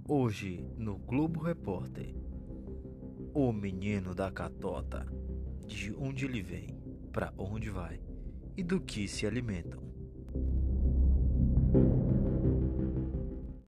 Hoje, no Globo Repórter, o menino da catota, de onde ele vem, para onde vai e do que se alimentam.